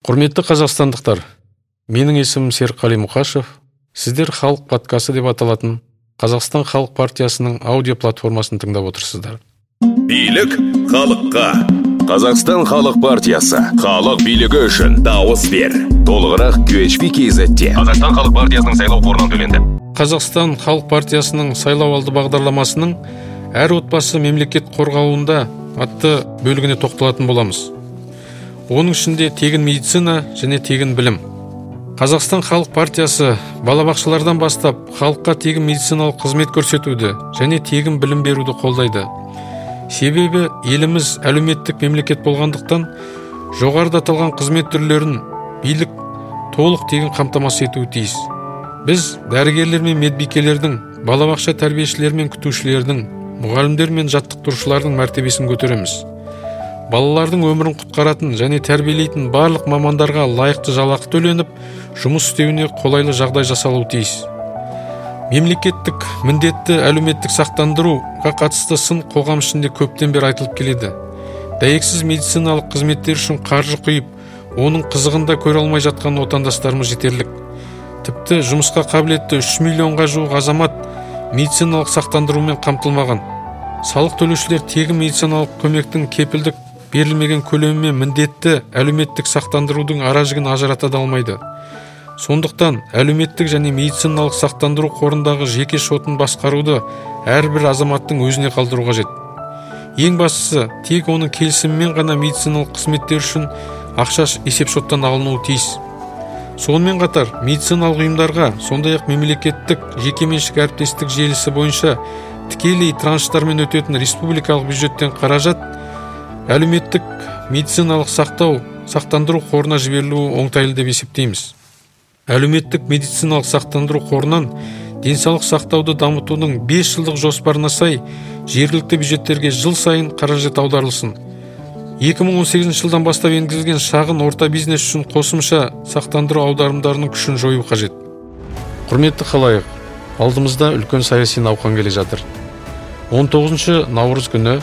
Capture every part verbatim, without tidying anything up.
Құрметті қазақстандықтар, менің есімім Серікқали Мұқашев. Сіздер халық подкасты деп аталатын Қазақстан халық партиясының аудио платформасын тыңдап отырсыздар. Билік халыққа. Қазақстан халық партиясы. Халық билігі үшін дауыс бер. Толығырақ ку эйч пи кей зетте. Қазақстан халық партиясының сайлау қорынан төленді. Қазақстан халық партиясының сайлау алды бағдарламасының әр отбасы мемлекет қорғауында атты бөлігіне тоқталатын боламыз. Оның ішінде тегін медицина және тегін білім. Қазақстан халық партиясы балабақшалардан бастап халыққа тегін медициналық қызмет көрсетуді және тегін білім беруді қолдайды. Себебі еліміз әлеуметтік мемлекет болғандықтан жоғарыда аталған қызмет түрлерін билік толық тегін қамтамасыз етуі тиіс. Біз дәрігерлер мен медбикелердің, балабақша тәрбиешілер мен күтушілердің, мұғалімдер мен жаттықтырушылардың мәртебесін көтереміз. Балалардың өмірін құтқаратын және тәрбиелейтін барлық мамандарға лайықты жалақы төленіп, жұмыс істеуіне қолайлы жағдай жасалуы тиіс. Мемлекеттік міндетті әлеуметтік сақтандыруға қатысты сын қоғам ішінде көптен бері айтылып келеді. Дәйексіз медициналық қызметтер үшін қаржы құйып, оның қызығында көре алмай жатқан отандастарымыз жетерлік. Тіпті жұмысқа қабілетті үш миллионға жуық азамат медициналық сақтандырумен қамтылмаған. Салық төлеушілер тегін медициналық көмектің кепілдік берілмеген көлемі мен міндетті әлеуметтік сақтандырудың аражігін ажырата алмайды. Сондықтан әлеуметтік және медициналық сақтандыру қорындағы жеке шотын басқаруды әрбір азаматтың өзіне қалдыру қажет. Ең бастысы, тек оның келісімімен ғана медициналық қызметтер үшін ақша есепшоттан алынуы тиіс. Сонымен қатар, медициналық ұйымдарға, сондай-ақ мемлекеттік жекеменшік әріптестік желісі бойынша тікелей транштармен өтетін республикалық бюджеттен қаражат әлеуметтік медициналық сақтау сақтандыру қорына жіберілуі оңтайлы деп есептейміз. Әлеуметтік медициналық сақтандыру қорынан денсаулық сақтауды дамытудың бес жылдық жоспарына сай жергілікті бюджеттерге жыл сайын қаражат аударылсын. екі мың он сегізінші жылдан бастап енгізілген шағын орта бизнес үшін қосымша сақтандыру аударымдарының күшін жою қажет. Құрметті халайық, алдымызда үлкен саяси науқан келе жатыр. он тоғызыншы наурыз күні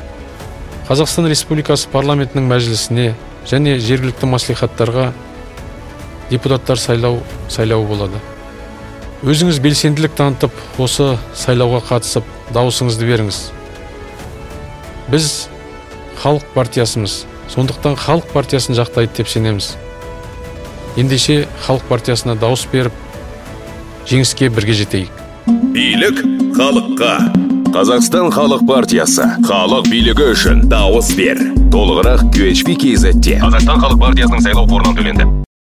Қазақстан Республикасы парламентінің мәжілісіне және жергілікті маслихаттарға депутаттар сайлау сайлауы болады. Өзіңіз белсенділік танытып, осы сайлауға қатысып, дауысыңызды беріңіз. Біз халық партиясымыз, сондықтан халық партиясын жақтайды деп сенеміз. Ендеше халық партиясына дауыс беріп, жеңіске бірге жетейік. Билік халыққа. Қазақстан халық партиясы. Халық билігі үшін дауыс бер. Толығырақ ку эйч пи кей зетте. Қазақстан халық партиясының сайлау қорынан төленді.